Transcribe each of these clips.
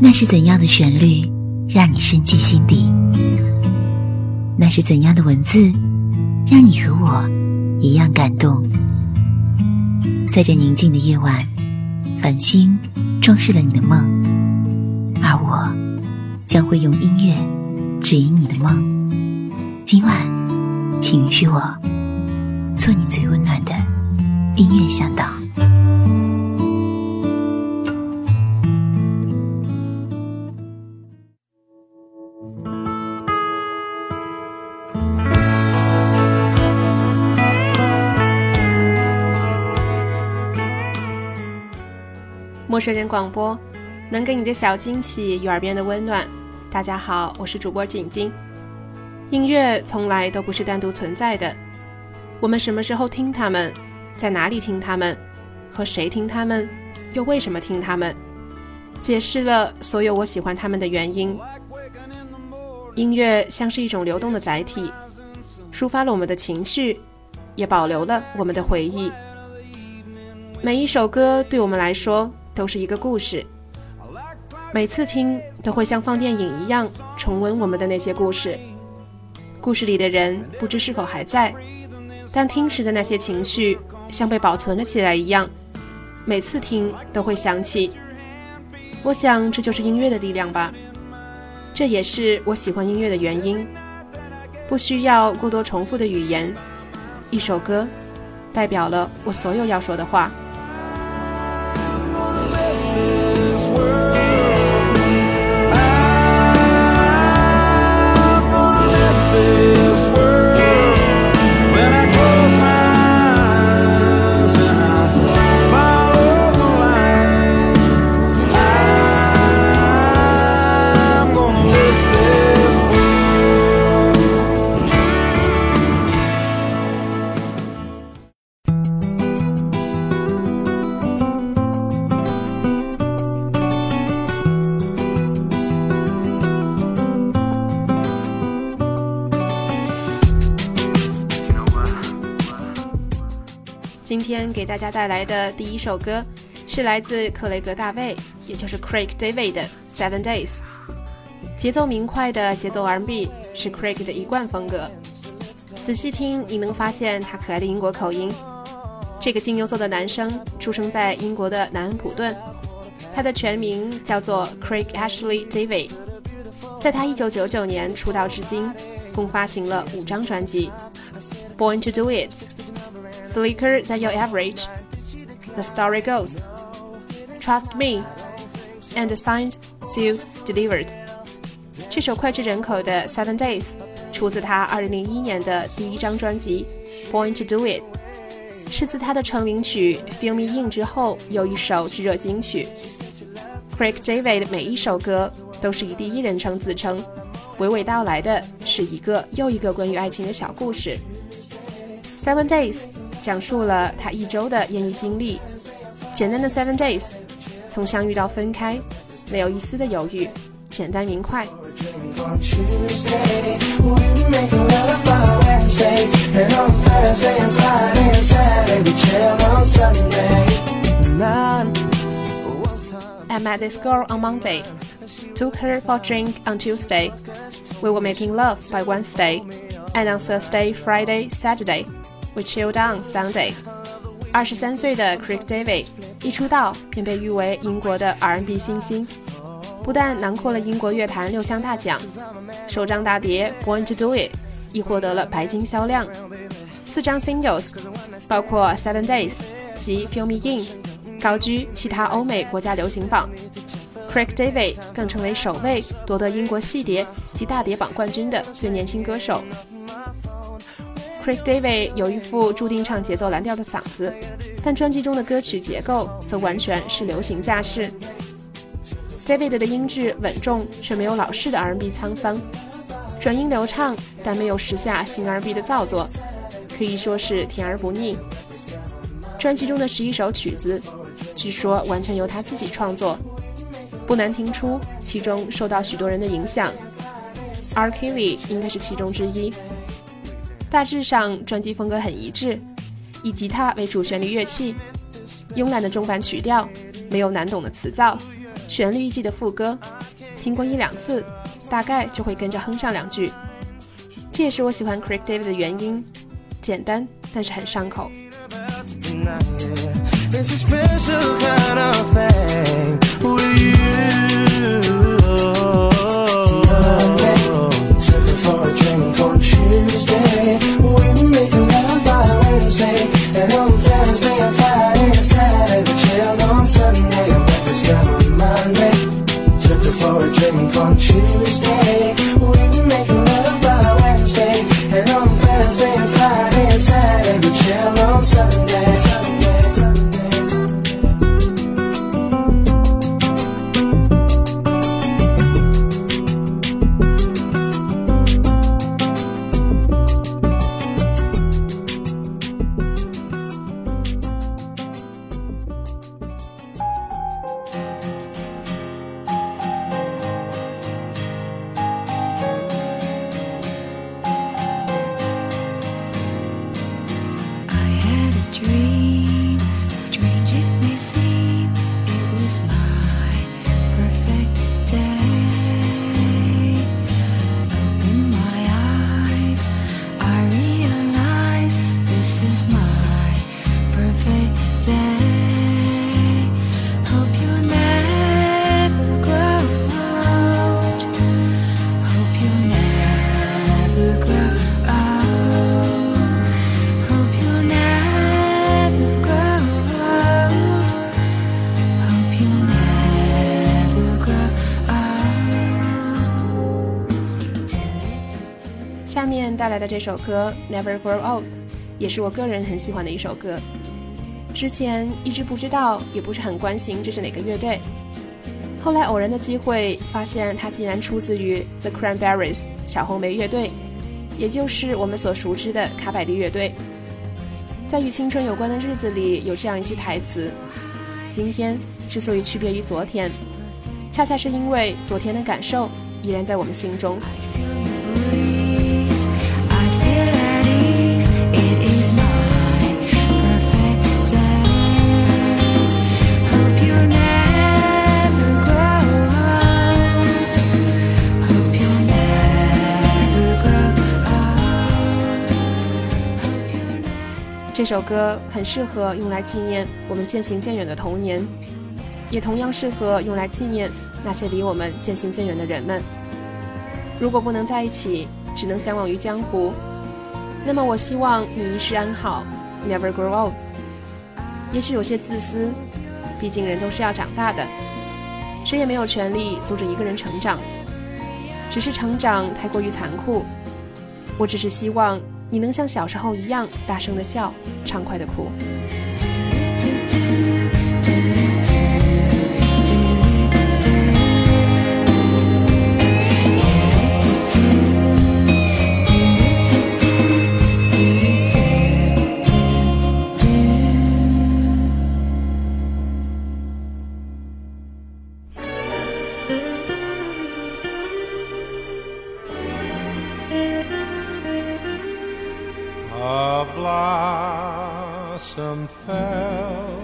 那是怎样的旋律让你深记心底？那是怎样的文字让你和我一样感动？在这宁静的夜晚，繁星装饰了你的梦，而我将会用音乐指引你的梦。今晚请允许我做你最温暖的音乐向导。 陌生人广播，能给你的小惊喜与耳边的温暖。大家好，我是主播景晶。音乐从来都不是单独存在的，我们什么时候听它们，在哪里听它们，和谁听它们，又为什么听它们，解释了所有我喜欢它们的原因。音乐像是一种流动的载体，抒发了我们的情绪，也保留了我们的回忆。每一首歌对我们来说都是一个故事，每次听都会像放电影一样重温我们的那些故事。故事里的人不知是否还在，但听时的那些情绪像被保存了起来一样，每次听都会想起。我想这就是音乐的力量吧，这也是我喜欢音乐的原因。不需要过多重复的语言，一首歌代表了我所有要说的话。今天给大家带来的第一首歌是来自克雷格大卫，也就是 Craig David 的 Seven Days。 节奏明快的节奏 R&B 是 Craig 的一贯风格，仔细听你能发现他可爱的英国口音。这个金牛座的男生出生在英国的南安普顿，他的全名叫做 Craig Ashley David。 在他1999年出道至今，共发行了5张专辑， Born to Do It， Slicker Than Your Average， The Story Goes， Trust Me and Signed, Sealed, Delivered。 这首脍炙人口的 Seven Days 出自他2001年的第一张专辑 Born to Do It， 是自他的成名曲 Fill Me In 之后又一首炙热金曲。 Craig David 的每一首歌都是以第一人称自称，娓娓道来的是一个又一个关于爱情的小故事。 Seven Days 讲述了他1周的艳遇经历，简单的 Seven Days， 从相遇到分开，没有一丝的犹豫，简单明快。I met this girl on Monday, took her for a drink on Tuesday. We were making love by Wednesday, and on Thursday, Friday, Saturday, we chilled on Sunday. 23岁的 Craig David 一出道便被誉为英国的 R&B 新星，不但囊括了英国乐坛6项大奖，首张大碟 Born to Do It 亦获得了白金销量，4张 singles 包括 Seven Days 及 Fill Me In 高居其他欧美国家流行榜。 Craig David 更成为首位夺得英国细碟及大碟榜冠军的最年轻歌手。 Craig David 有一副注定唱节奏蓝调的嗓子，但专辑中的歌曲结构则完全是流行架势。 David 的音质稳重，却没有老式的 R&B 沧桑，转音流畅，但没有时下新 R&B 的造作，可以说是甜而不腻。专辑中的11首曲子据说完全由他自己创作，不难听出其中受到许多人的影响， R. Kelly 应该是其中之一。大致上专辑风格很一致，以吉他为主旋律乐器，慵懒的中版曲调， 没有难懂的词造，旋律一记的副歌，听过1-2次，大概就会跟着哼上2句。这也是我喜欢 Craig David 的原因，简单但是很上口。It's a special kind of thing with you. Monday, tripping for a drink on Tuesday. We making love by Wednesday, and on Thursday and Friday and Saturday we chill on Sunday. And breakfast girl on Monday, tripping for a drink on Tuesday. We making love by Wednesday, and on Thursday and Friday and Saturday we chill on Sunday.下面带来的这首歌 Never Grow Old 也是我个人很喜欢的一首歌，之前一直不知道，也不是很关心这是哪个乐队，后来偶然的机会发现它竟然出自于 The Cranberries 小红莓乐队，也就是我们所熟知的卡百利乐队。在与青春有关的日子里有这样一句台词，今天之所以区别于昨天，恰恰是因为昨天的感受依然在我们心中。这首歌很适合用来纪念我们渐行渐远的童年，也同样适合用来纪念那些离我们渐行渐远的人们。如果不能在一起，只能相忘于江湖，那么我希望你一世安好 Never grow old。 也许有些自私，毕竟人都是要长大的，谁也没有权利阻止一个人成长，只是成长太过于残酷。我只是希望你能像小时候一样大声的笑，畅快的哭。 A blossom fell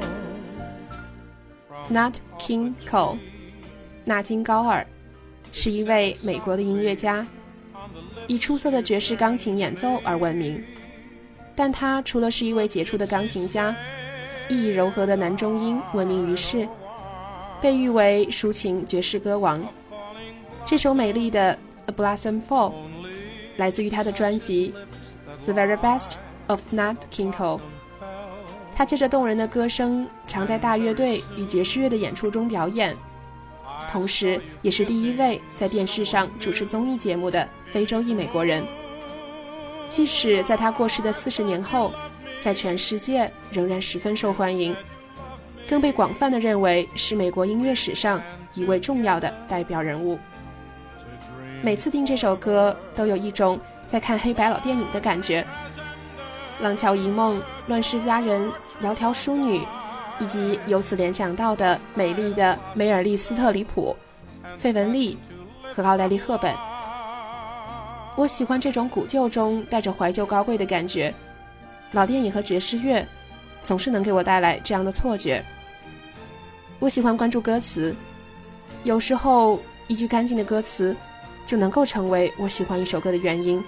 Nat King Cole 纳金高尔是一位美国的音乐家，以出色的爵士钢琴演奏而闻名，但他除了是一位杰出的钢琴家，意义柔和的男中音闻名于世，被誉为抒情爵士歌王。这首美丽的 A Blossom Fall 来自于他的专辑The Very Best of Nat King Cole。 他借着动人的歌声常在大乐队与爵士乐的演出中表演，同时也是第一位在电视上主持综艺节目的非洲裔美国人。即使在他过世的40年后，在全世界仍然十分受欢迎，更被广泛地认为是美国音乐史上一位重要的代表人物。每次听这首歌都有一种在看黑白老电影的感觉，廊桥遗梦、乱世佳人、窈窕淑女，以及由此联想到的美丽的梅尔利斯特里普、费雯丽和奥黛丽赫本。我喜欢这种古旧中带着怀旧高贵的感觉，老电影和爵士乐总是能给我带来这样的错觉。 我喜欢关注歌词，有时候一句干净的歌词就能够成为我喜欢一首歌的原因。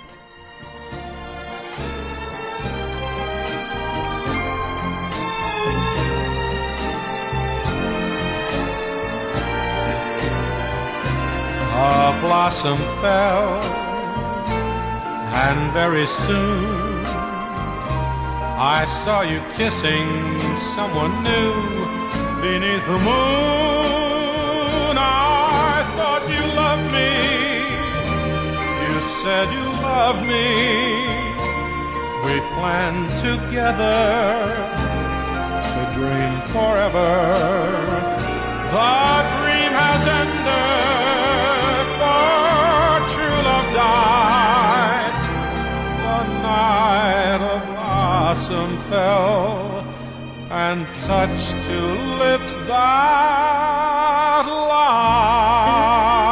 A blossom fell, and very soon I saw you kissing someone new beneath the moon. I thought you loved me, you said you loved me. We planned together to dream forever. The dream has ended, for true love died the night a blossom fell and touched two lips that lied.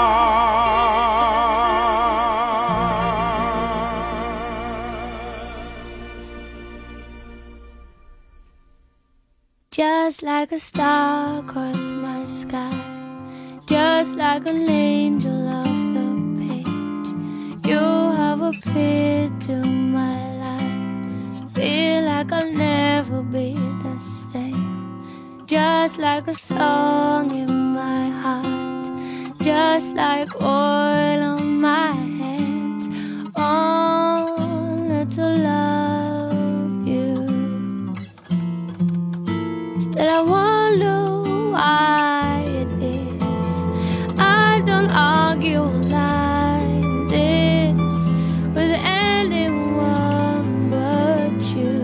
Just like a star across my sky, just like an angel off the page, you have appeared to my life. Feel like I'll never be the same. Just like a song in my heart, just like oil on my hands, only to love you. Still I wonder why it is I don't argue like this with anyone but you.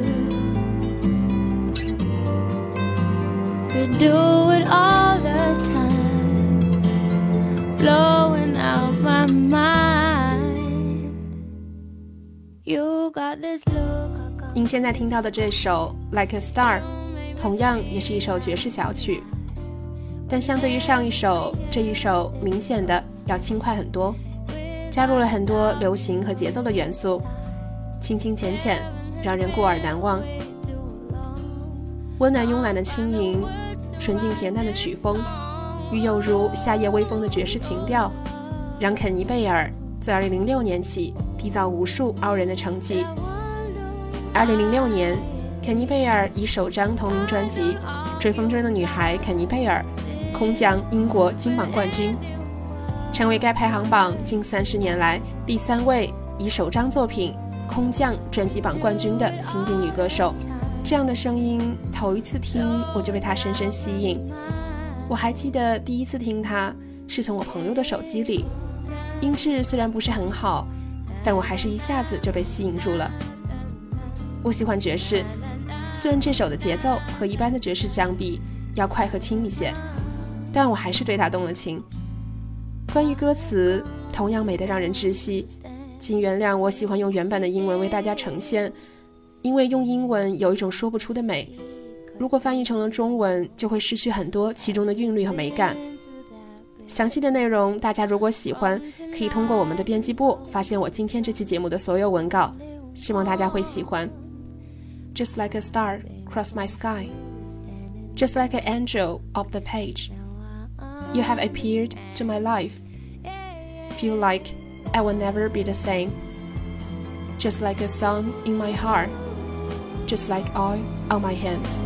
We do it all the time, blowing out my mind. You got this look. 您现在听到的这首 Like a Star 同样也是一首爵士小曲，但相对于上一首，这一首明显的要轻快很多，加入了很多流行和节奏的元素，轻轻浅浅，让人过耳难忘。温暖慵懒的轻盈，纯净恬淡的曲风，与有如夏夜微风的爵士情调，让肯尼贝尔自2006年起缔造无数傲人的成绩。2006年，肯尼贝尔以首张同名专辑《追风筝的女孩肯尼贝尔》空降英国金榜冠军，成为该排行榜近30年来第3位以首张作品空降专辑榜冠军的新晋女歌手。这样的声音，头一次听我就被她深深吸引。我还记得第一次听她是从我朋友的手机里，音质虽然不是很好，但我还是一下子就被吸引住了。我喜欢爵士，虽然这首的节奏和一般的爵士相比要快和轻一些，但我还是对它动了情。关于歌词，同样美得让人窒息，请原谅我喜欢用原版的英文为大家呈现，因为用英文有一种说不出的美，如果翻译成了中文，就会失去很多其中的韵律和美感。详细的内容大家如果喜欢，可以通过我们的编辑部发现我今天这期节目的所有文稿，希望大家会喜欢。Just like a star across my sky, just like an angel off the page, you have appeared to my life. Feel like I will never be the same. Just like a song in my heart, just like oil on my hands.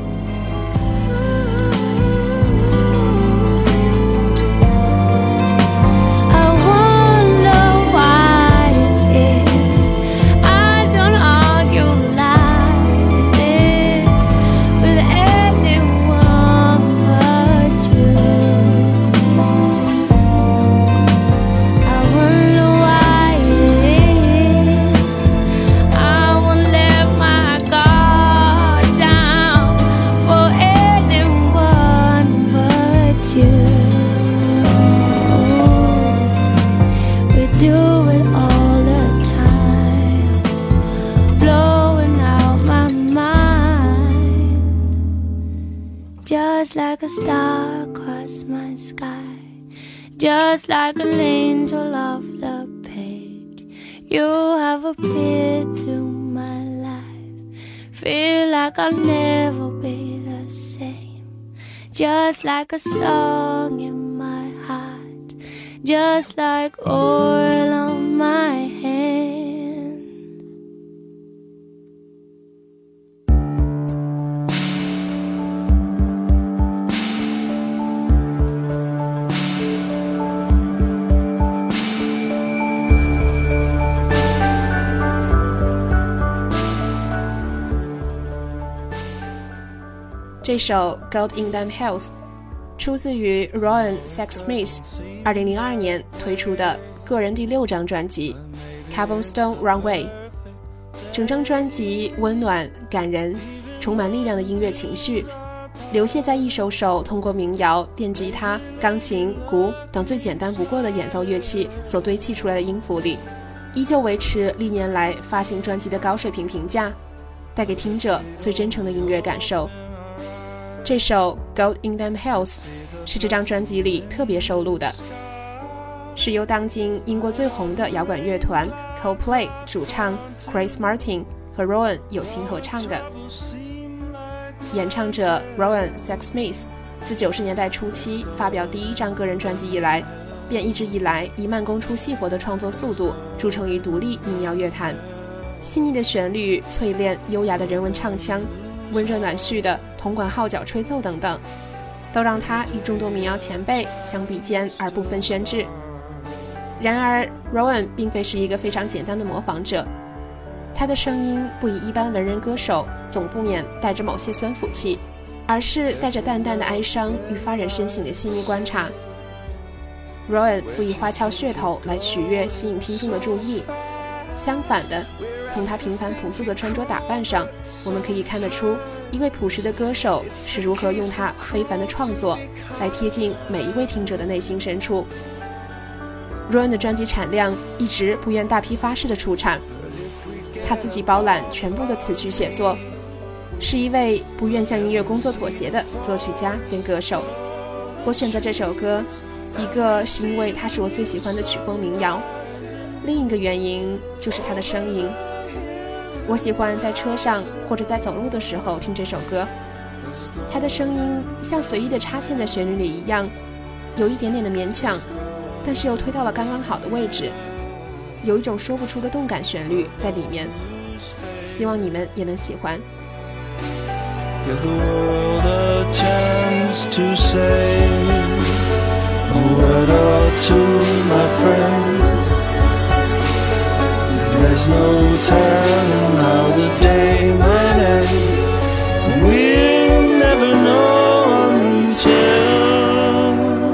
Just like a star across my sky, just like an angel off the page, you have appeared to my life. Feel like I'll never be the same. just like a song in my heart, just like oil on my hands. 这首 Gold in Them Hills 出自于 Ryan Sexsmith 2002年推出的个人第6张专辑 Cobblestone Runway。 整张专辑温暖感人，充满力量的音乐情绪流泻在一首首通过民谣、电吉他、钢琴、鼓等最简单不过的演奏乐器所堆砌出来的音符里，依旧维持历年来发行专辑的高水平评价，带给听者最真诚的音乐感受。这首 Gold in Them Hills 是这张专辑里特别收录的，是由当今英国最红的摇滚乐团 Coldplay 主唱 Chris Martin 和 Rowan 友情合唱的。演唱者 Ryan Sexsmith 自90年代初期发表第1张个人专辑以来，便一直以来以慢工出细活的创作速度著称于独立民谣乐坛。细腻的旋律、淬炼优雅的人文唱腔、温热暖煦的铜管号角吹奏等等，都让他与众多民谣前辈相比肩而不分轩轾。然而 Rowan 并非是一个非常简单的模仿者，他的声音不以一般文人歌手总不免带着某些酸腐气，而是带着淡淡的哀伤与发人深省的细腻观察。 Rowan 不以花俏噱头来取悦吸引听众的注意，相反的，从他平凡朴素的穿着打扮上，我们可以看得出一位朴实的歌手是如何用他非凡的创作来贴近每一位听者的内心深处。 Rowan 的专辑产量一直不愿大批发式的出产，他自己包揽全部的词曲写作，是一位不愿向音乐工作妥协的作曲家兼歌手。我选择这首歌，一个是因为它是我最喜欢的曲风民谣，另一个原因就是它的声音。我喜欢在车上或者在走路的时候听这首歌，它的声音像随意的插嵌在旋律里一样，有一点点的勉强，但是又推到了刚刚好的位置，有一种说不出的动感旋律在里面，希望你们也能喜欢。 Give the world a chance to say a word or two, my friend. There's no telling how the day might end. We'll never know until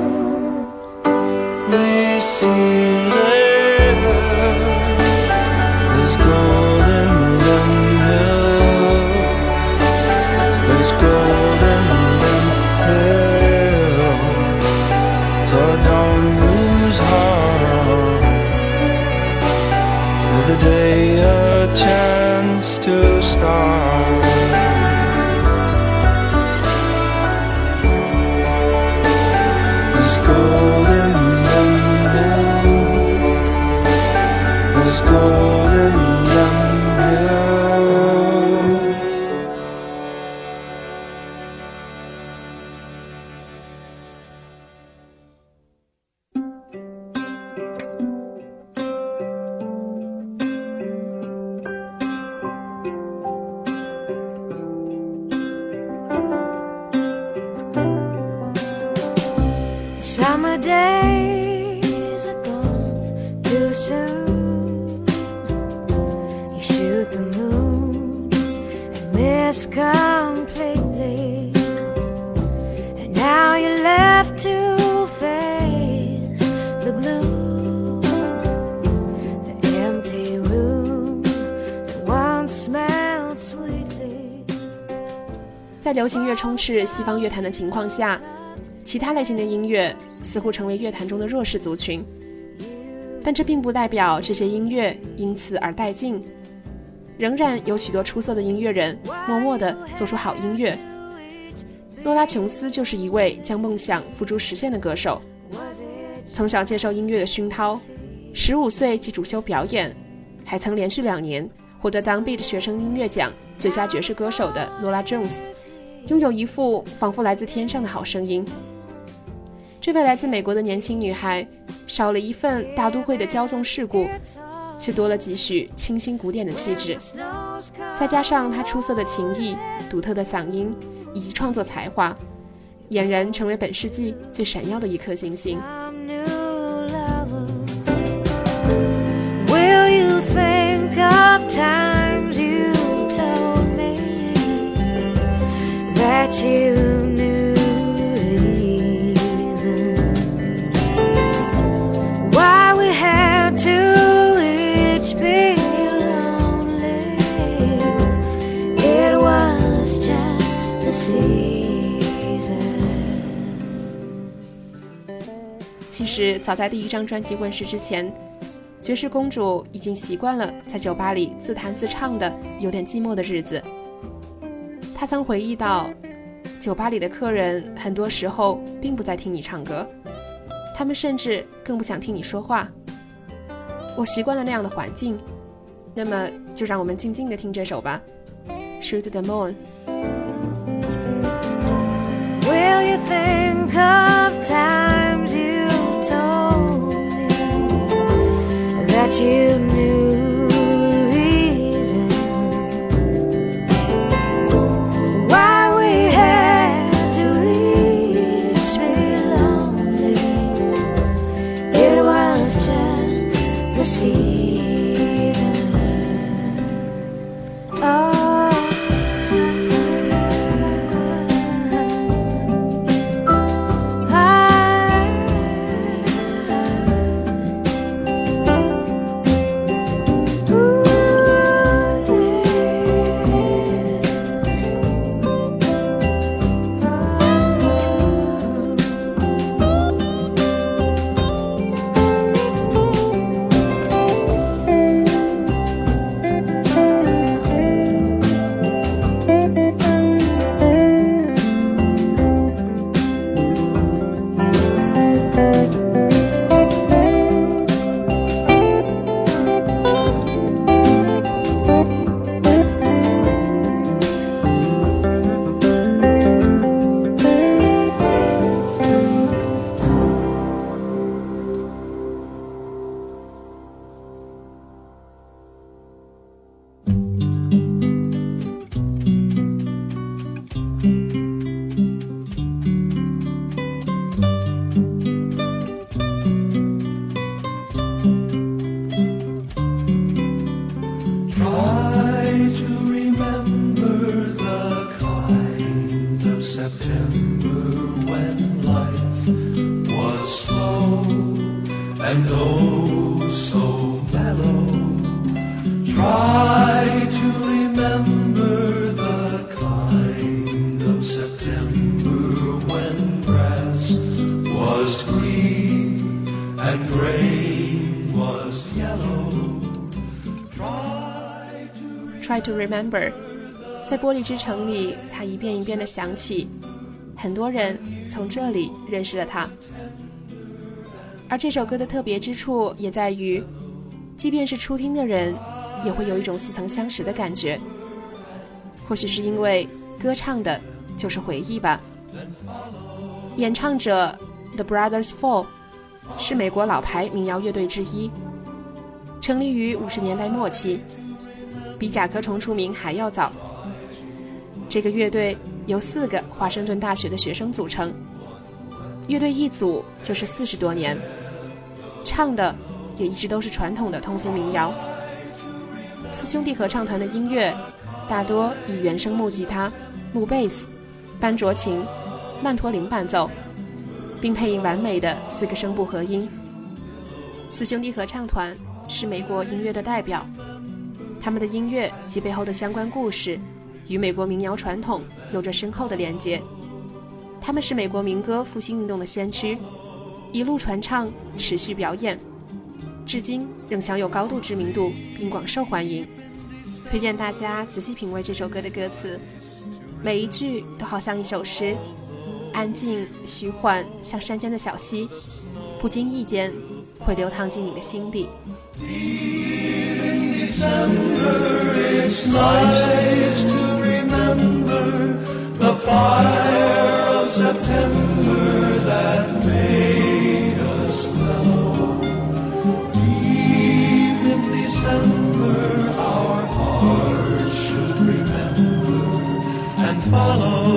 we see there. There's gold in them hills. There's gold in them hills. So don't lose heart. Give the day a chance to start. There's gold in them hills. There's gold in them hills. Summer days are gone too soon. You shoot the moon and miss completely, and now you're left to face the gloom, the empty room that once smelled sweetly. 在流行乐充斥西方乐坛的情况下，其他类型的音乐似乎成为乐坛中的弱势族群，但这并不代表这些音乐因此而殆尽，仍然有许多出色的音乐人默默地做出好音乐。诺拉·琼斯就是一位将梦想付诸实现的歌手，从小接受音乐的熏陶，15岁即主修表演，还曾连续2年获得当地的学生音乐奖最佳爵士歌手的诺拉· Jones， 拥有一副仿佛来自天上的好声音。这位来自美国的年轻女孩，少了一份大都会的骄纵世故，却多了几许清新古典的气质。再加上她出色的琴艺、独特的嗓音以及创作才华，俨然成为本世纪最闪耀的一颗星星。 Will you think of times you told me that you knew reason why we had to each be lonely? It was just the season. 其实早在第一张专辑问世之前，爵士公主已经习惯了在酒吧里自弹自唱的有点寂寞的日子。她曾回忆到，酒吧里的客人很多时候并不在听你唱歌，他们甚至更不想听你说话。我习惯了那样的环境，那么就让我们静静地听这首吧， Shoot the Moon。 Will you think of times you told me that you knew reason why we had to each be lonely? It was just the season. Oh, and oh so mellow. Try to remember the kind of September when grass was green and grain was yellow. Try to remember， 在玻璃之城里，它一遍一遍地响起，很多人从这里认识了它。而这首歌的特别之处也在于，即便是初听的人，也会有一种似曾相识的感觉。或许是因为歌唱的就是回忆吧。演唱者 The Brothers Four 是美国老牌民谣乐队之一，成立于50年代末期，比甲壳虫出名还要早。这个乐队由4个华盛顿大学的学生组成，乐队一组就是40多年，唱的也一直都是传统的通俗民谣。四兄弟合唱团的音乐大多以原声木吉他、木贝斯、班卓琴、曼陀林伴奏，并配以完美的4个声部合音。四兄弟合唱团是美国音乐的代表，他们的音乐及背后的相关故事与美国民谣传统有着深厚的连结。他们是美国民歌复兴运动的先驱，一路传唱，持续表演，至今仍享有高度知名度并广受欢迎。推荐大家仔细品味这首歌的歌词，每一句都好像一首诗，安静虚幻，像山间的小溪，不经意间会流淌进你的心底。 December, it's nice to remember the fire of September that made us mellow. Deep in December, our hearts should remember and follow.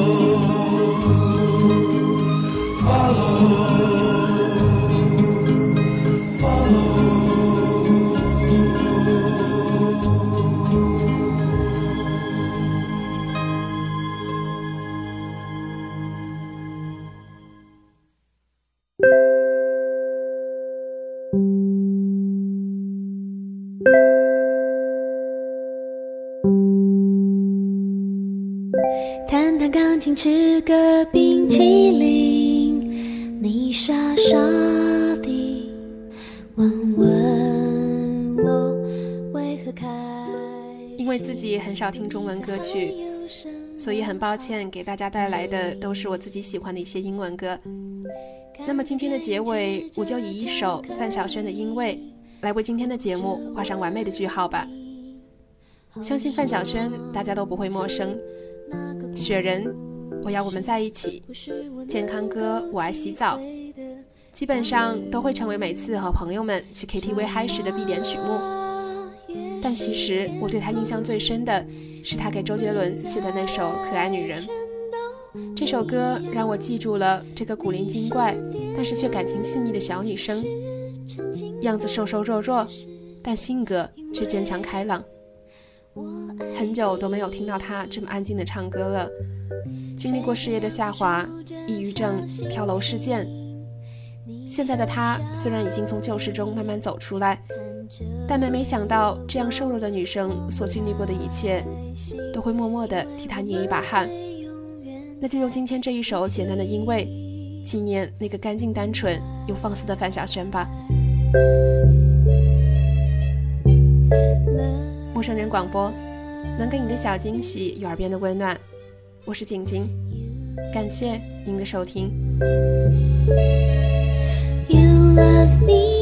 弹弹钢琴，吃个冰淇淋，你傻傻地问问我为何开。 因为自己很少听中文歌曲，所以很抱歉给大家带来的都是我自己喜欢的一些英文歌。那么今天的结尾，我就以一首范晓萱的《因为》来为今天的节目画上完美的句号吧。相信范晓萱大家都不会陌生，雪人，我要我们在一起，健康歌，我爱洗澡，基本上都会成为每次和朋友们去 KTV 嗨时的必点曲目。但其实我对他印象最深的是他给周杰伦写的那首《可爱女人》。这首歌让我记住了这个古灵精怪但是却感情细腻的小女生，样子瘦瘦弱弱，但性格却坚强开朗。很久都没有听到她这么安静的唱歌了。经历过事业的下滑，抑郁症，跳楼事件，现在的她虽然已经从旧事中慢慢走出来，但没想到这样瘦弱的女生所经历过的一切都会默默地替她捏一把汗。那就用今天这一首简单的《因为》纪念那个干净单纯又放肆的范晓萱吧。陌生人广播，能给你的小惊喜与耳边的温暖。我是景晶，感谢您的收听。 You love me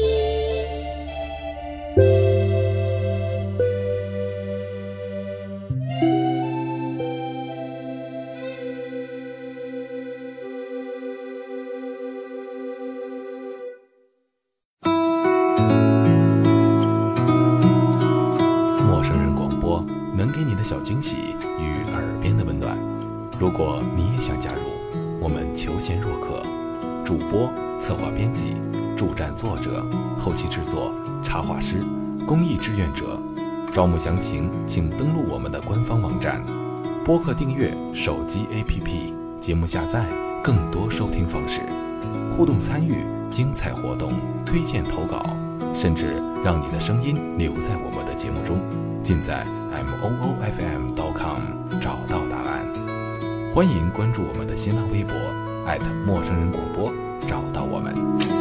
能给你的小惊喜与耳边的温暖。如果你也想加入，我们求贤若渴，主播、策划编辑、助战作者、后期制作、插画师、公益志愿者，招募详情请登录我们的官方网站。播客订阅、手机 APP、节目下载、更多收听方式，互动参与、精彩活动、推荐投稿，甚至让你的声音留在我们的节目中，尽在moofm.com 找到答案。欢迎关注我们的新浪微博陌生人广播，找到我们。